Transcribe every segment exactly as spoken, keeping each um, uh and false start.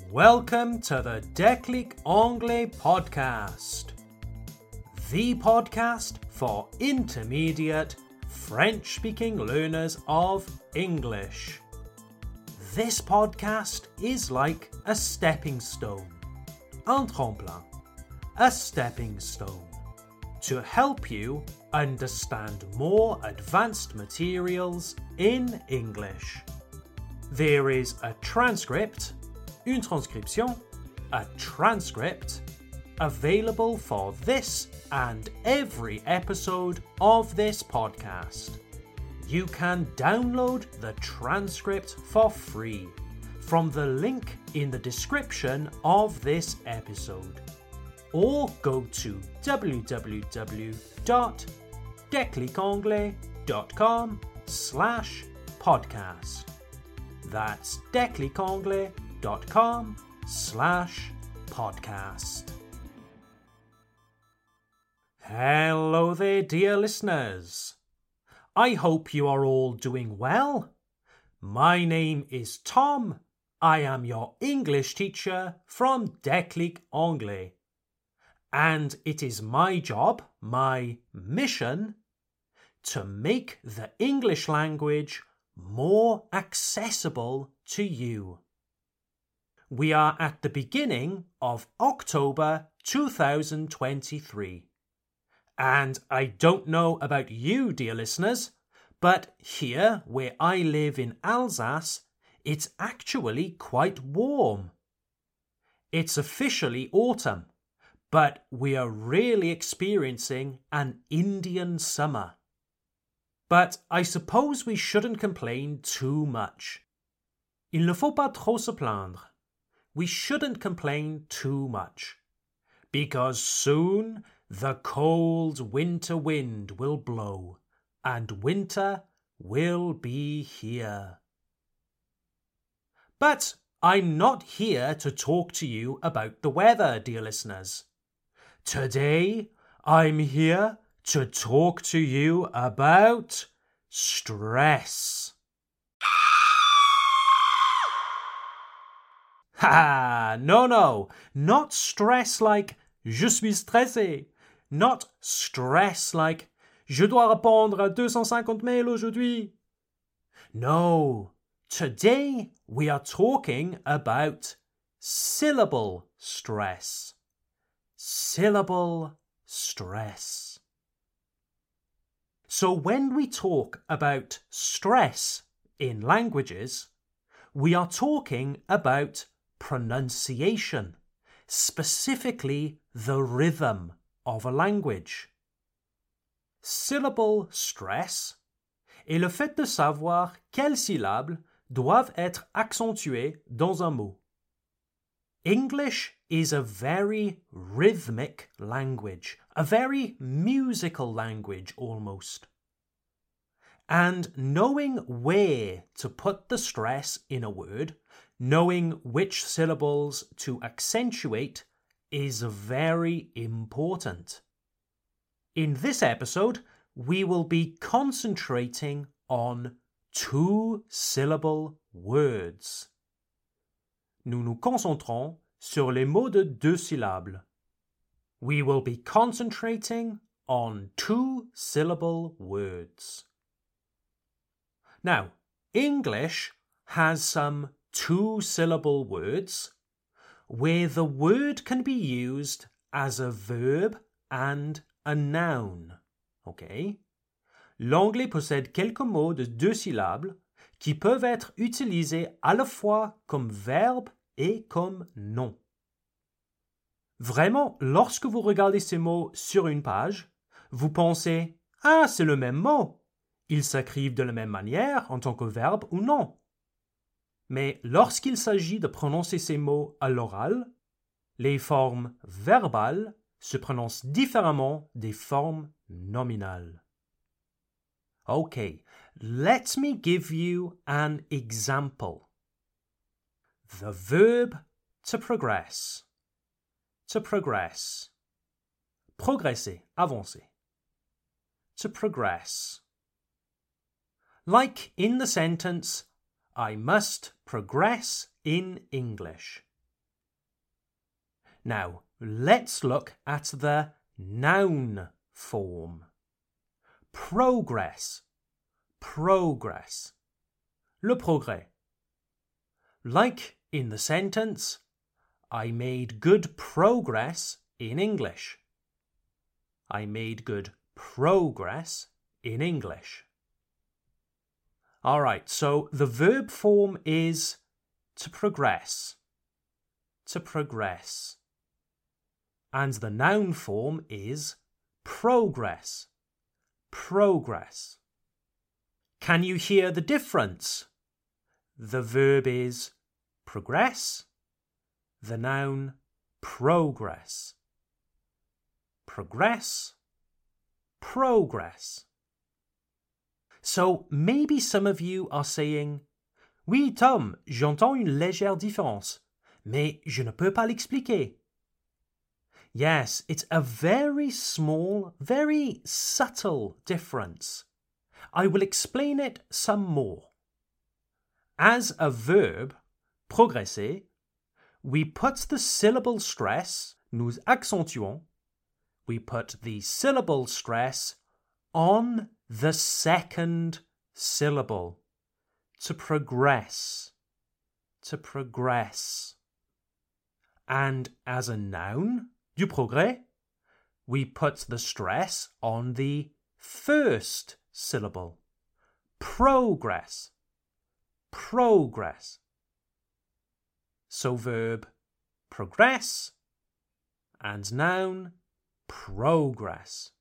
Welcome to the Déclic Anglais podcast, the podcast for intermediate French-speaking learners of English. This podcast is like a stepping stone, un tremplin, a stepping stone, to help you understand more advanced materials in English. There is a transcript, une transcription, a transcript, available for this and every episode of this podcast. You can download the transcript for free from the link in the description of this episode, or go to w w w dot declicanglais dot com slash podcast. That's declicanglais dot com slash podcast. Hello there, dear listeners. I hope you are all doing well. My name is Tom. I am your English teacher from Déclic Anglais. And it is my job, my mission, to make the English language more accessible to you. We are at the beginning of October two thousand twenty-three. And I don't know about you, dear listeners, but here where I live in Alsace, it's actually quite warm. It's officially autumn, but we are really experiencing an Indian summer. But I suppose we shouldn't complain too much. Il ne faut pas trop se plaindre. We shouldn't complain too much, because soon the cold winter wind will blow, and winter will be here. But I'm not here to talk to you about the weather, dear listeners. Today, I'm here to talk to you about stress. Ha! No, no, not stress like je suis stressé. Not stress like je dois répondre à deux cent cinquante mails aujourd'hui. No, today we are talking about syllable stress. Syllable stress. So when we talk about stress in languages, we are talking about pronunciation, specifically the rhythm of a language. Syllable stress est le fait de savoir quelles syllabes doivent être accentuées dans un mot. English is a very rhythmic language, a very musical language almost. And knowing where to put the stress in a word, knowing which syllables to accentuate, is very important. In this episode, we will be concentrating on two-syllable words. Nous nous concentrons sur les mots de deux syllabes. We will be concentrating on two-syllable words. Now, English has some two-syllable words where the word can be used as a verb and a noun. Okay? L'anglais possède quelques mots de deux syllabes qui peuvent être utilisés à la fois comme verbe et comme nom. Vraiment, lorsque vous regardez ces mots sur une page, vous pensez « Ah, c'est le même mot. Ils s'écrivent de la même manière en tant que verbe ou non. » Mais lorsqu'il s'agit de prononcer ces mots à l'oral, les formes verbales se prononcent différemment des formes nominales. Okay, let me give you an example. The verb to progress. To progress. Progresser, avancer. To progress. Like in the sentence, I must progress in English. Now, let's look at the noun form. Progress. Progress. Le progrès. Like in the sentence, I made good progress in English. I made good progress in English. All right, so the verb form is to progress. To progress. And the noun form is progress. Progress. Can you hear the difference? The verb is progress. The noun progress. Progress. Progress. So maybe some of you are saying, Oui, Tom, j'entends une légère différence, mais je ne peux pas l'expliquer. Yes, it's a very small, very subtle difference. I will explain it some more. As a verb, progresser, we put the syllable stress, nous accentuons, we put the syllable stress on the second syllable. To progress. To progress. And as a noun, du progrès, we put the stress on the first syllable. Progress. Progress. So verb progress and noun progress.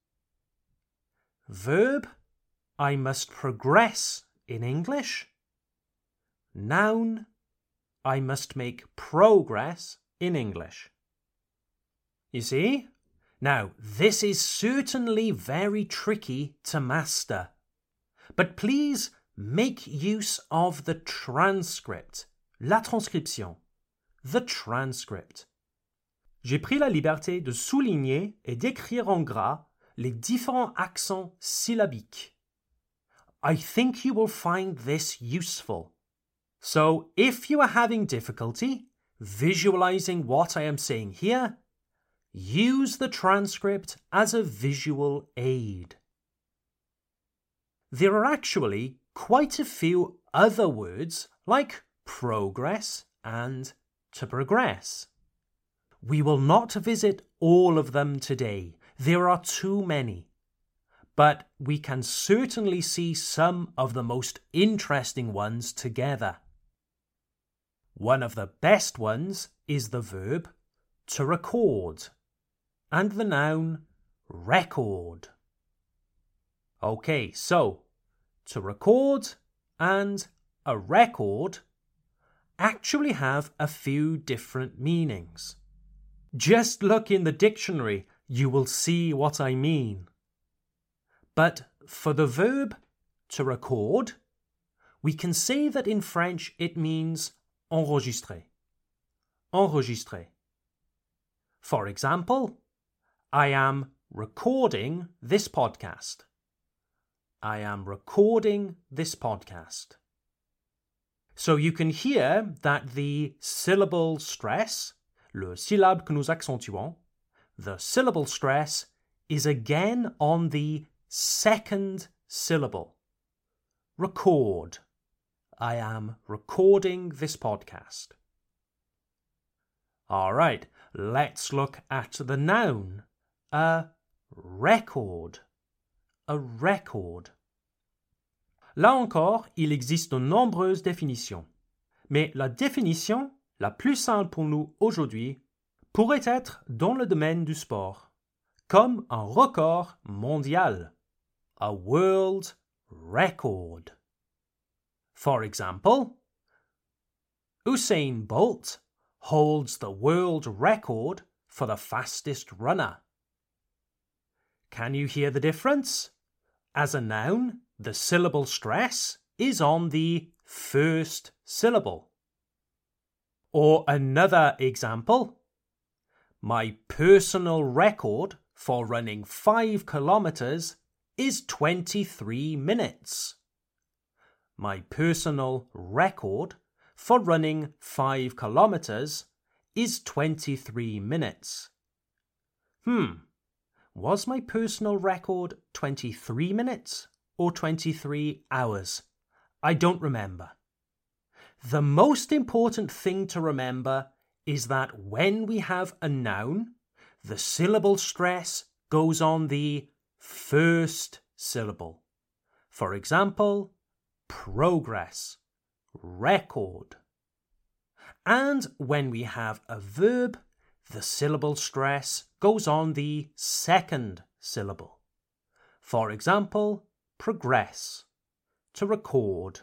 Verb, I must progress in English. Noun, I must make progress in English. You see? Now, this is certainly very tricky to master. But please make use of the transcript. La transcription. The transcript. J'ai pris la liberté de souligner et d'écrire en gras les différents accents syllabiques. I think you will find this useful. So, if you are having difficulty visualizing what I am saying here, use the transcript as a visual aid. There are actually quite a few other words like progress and to progress. We will not visit all of them today. There are too many. But we can certainly see some of the most interesting ones together. One of the best ones is the verb to record and the noun record. Okay, so to record and a record actually have a few different meanings. Just look in the dictionary, you will see what I mean. But for the verb to record, we can say that in French it means enregistrer. Enregistrer. For example, I am recording this podcast. I am recording this podcast. So you can hear that the syllable stress, le syllabe que nous accentuons, the syllable stress is again on the second syllable. Record. I am recording this podcast. All right, let's look at the noun. A record. A record. Là encore, il existe de nombreuses définitions. Mais la définition la plus simple pour nous aujourd'hui pourrait être dans le domaine du sport, comme un record mondial. A world record. For example, Usain Bolt holds the world record for the fastest runner. Can you hear the difference? As a noun, the syllable stress is on the first syllable. Or another example, my personal record for running five kilometers is twenty-three minutes. My personal record for running five kilometers is twenty-three minutes. Hmm, was my personal record twenty-three minutes or twenty-three hours? I don't remember. The most important thing to remember is that when we have a noun, the syllable stress goes on the first syllable. For example, progress, record. And when we have a verb, the syllable stress goes on the second syllable. For example, progress, to record.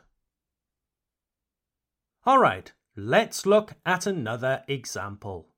All right, let's look at another example.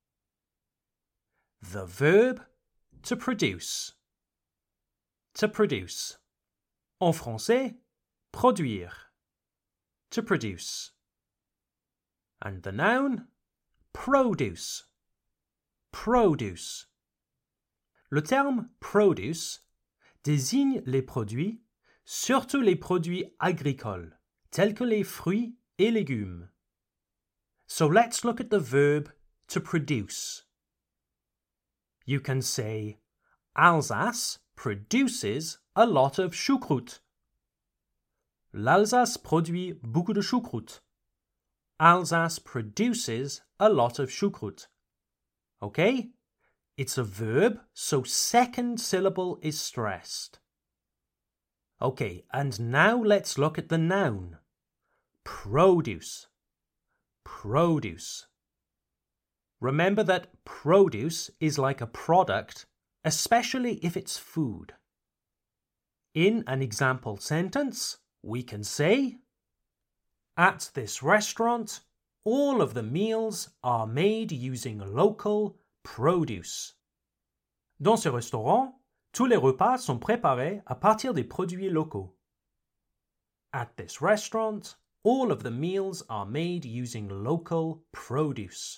The verb to produce. To produce. En français, produire. To produce. And the noun, produce. Produce. Le terme produce désigne les produits, surtout les produits agricoles, tels que les fruits et légumes. So let's look at the verb to produce. You can say, Alsace produces a lot of choucroute. L'Alsace produit beaucoup de choucroute. Alsace produces a lot of choucroute. Okay? It's a verb, so second syllable is stressed. Okay, and now let's look at the noun. Produce. Produce. Remember that produce is like a product, especially if it's food. In an example sentence, we can say, at this restaurant, all of the meals are made using local produce. Dans ce restaurant, tous les repas sont préparés à partir des produits locaux. At this restaurant, all of the meals are made using local produce.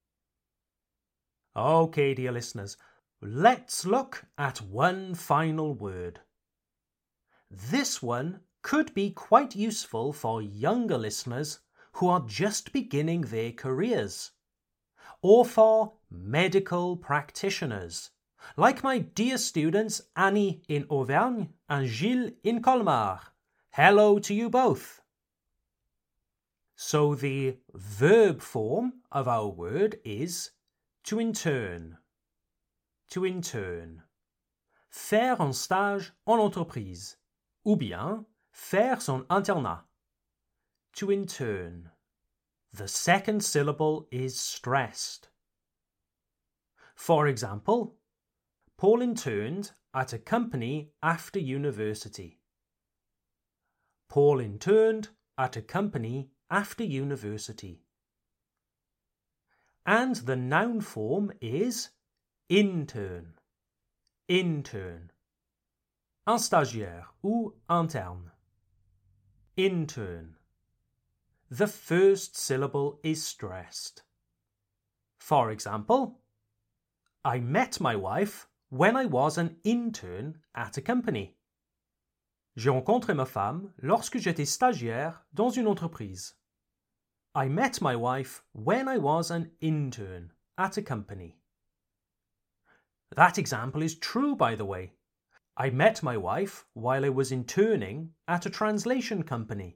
Okay, dear listeners, let's look at one final word. This one could be quite useful for younger listeners who are just beginning their careers, or for medical practitioners, like my dear students Annie in Auvergne and Gilles in Colmar. Hello to you both. So the verb form of our word is to interne. To interne. Faire un stage en entreprise. Ou bien faire son internat. To interne. The second syllable is stressed. For example, Paul interned at a company after university. Paul interned at a company after university. And the noun form is interne. Interne. Un stagiaire ou interne. Interne. The first syllable is stressed. For example, I met my wife when I was an intern at a company. J'ai rencontré ma femme lorsque j'étais stagiaire dans une entreprise. I met my wife when I was an intern at a company. That example is true, by the way. I met my wife while I was interning at a translation company.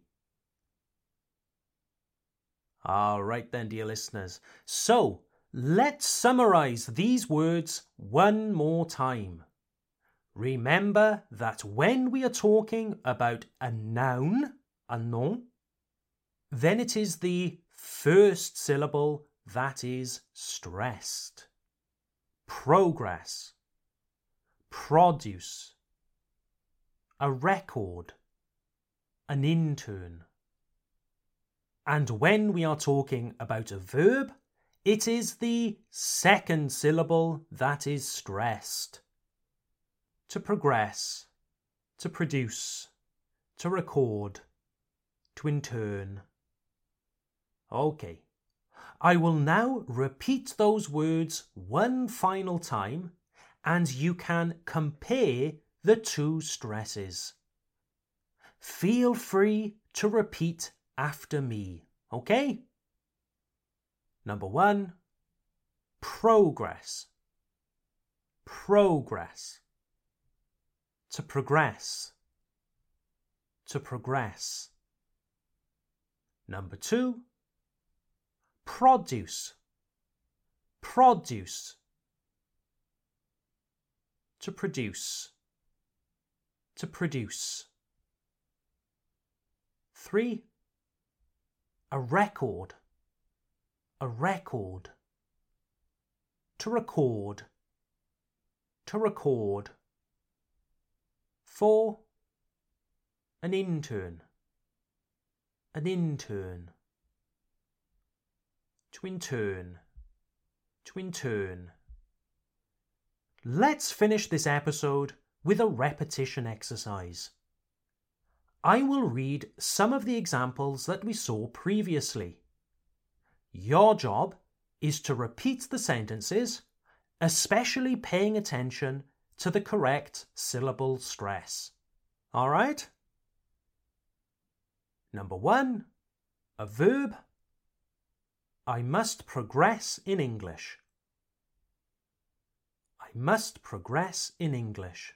All right then, dear listeners. So, let's summarize these words one more time. Remember that when we are talking about a noun, a nom, then it is the first syllable that is stressed. Progress. Produce. A record. An intern. And when we are talking about a verb, it is the second syllable that is stressed. To progress. To produce. To record. To intern. Okay. I will now repeat those words one final time, and you can compare the two stresses. Feel free to repeat after me, okay? Number one, progress, progress. To progress, to progress. Number two, produce, produce. To produce, to produce. Three, a record, a record. To record, to record. Four, an intern, an intern. To intern, to intern. Let's finish this episode with a repetition exercise. I will read some of the examples that we saw previously. Your job is to repeat the sentences, especially paying attention to the correct syllable stress. All right? Number one, a verb. I must progress in English. I must progress in English.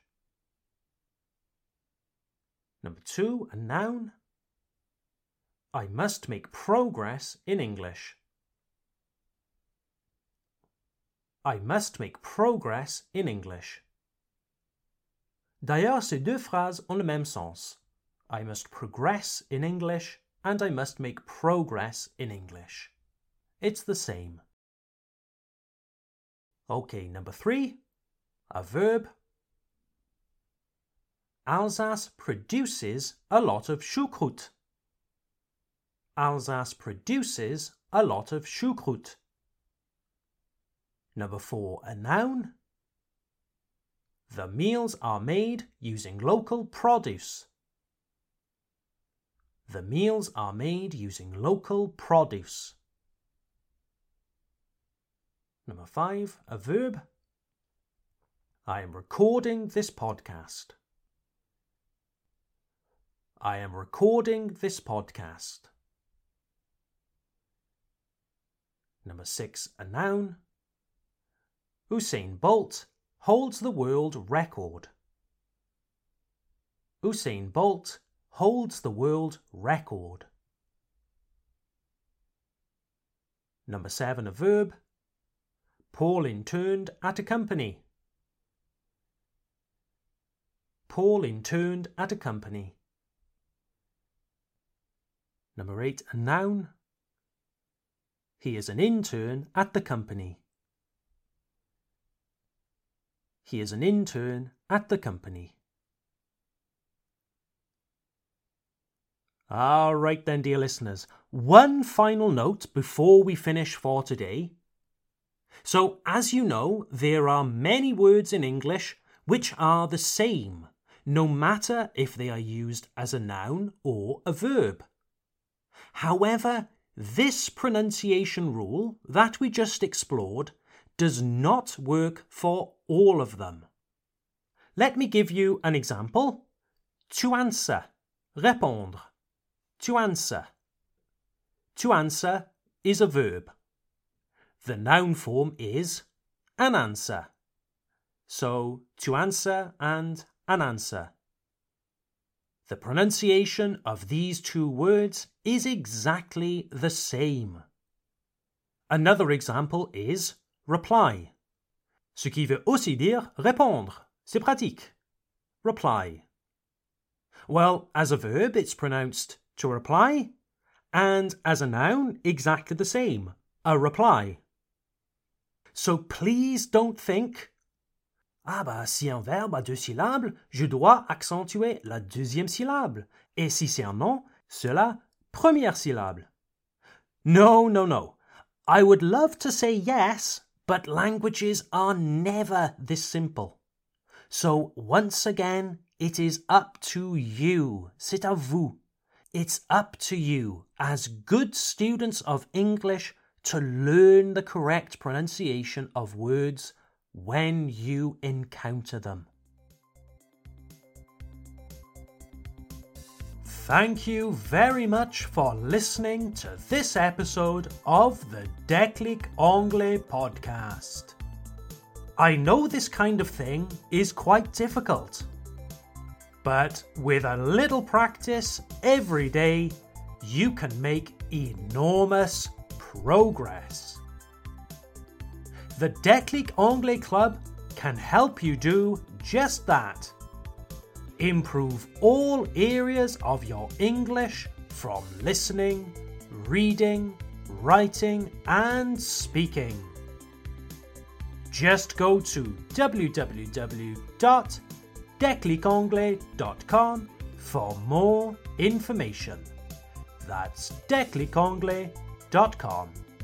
Number two, a noun. I must make progress in English. I must make progress in English. D'ailleurs, ces deux phrases ont le même sens. I must progress in English and I must make progress in English. It's the same. Okay, number three, a verb. Alsace produces a lot of choucroute. Alsace produces a lot of choucroute. Number four, a noun. The meals are made using local produce. The meals are made using local produce. Number five, a verb. I am recording this podcast. I am recording this podcast. Number six, a noun. Usain Bolt holds the world record. Usain Bolt holds the world record. Number seven, a verb. Paul interned at a company. Paul interned at a company. Number eight, a noun. He is an intern at the company. He is an intern at the company. All right then, dear listeners. One final note before we finish for today. So, as you know, there are many words in English which are the same, no matter if they are used as a noun or a verb. However, this pronunciation rule that we just explored does not work for all of them. Let me give you an example. To answer, répondre. To answer. To answer is a verb. The noun form is an answer. So, to answer and an answer. The pronunciation of these two words is exactly the same. Another example is reply. Ce qui veut aussi dire répondre. C'est pratique. Reply. Well, as a verb, it's pronounced to reply, and as a noun, exactly the same, a reply. So please don't think, ah bah si un verbe a deux syllabes, je dois accentuer la deuxième syllabe, et si c'est un nom, c'est la première syllabe. No, no, no. I would love to say yes, but languages are never this simple. So once again, it is up to you. C'est à vous. It's up to you, as good students of English, to learn the correct pronunciation of words when you encounter them. Thank you very much for listening to this episode of the Déclic Anglais podcast. I know this kind of thing is quite difficult, but with a little practice every day, you can make enormous progress. The Déclic Anglais Club can help you do just that. Improve all areas of your English from listening, reading, writing, and speaking. Just go to w w w dot déclic anglais dot com for more information. That's déclic anglais dot com.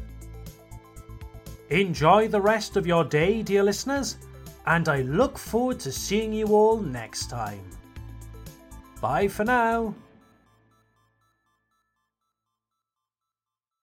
Enjoy the rest of your day, dear listeners, and I look forward to seeing you all next time. Bye for now.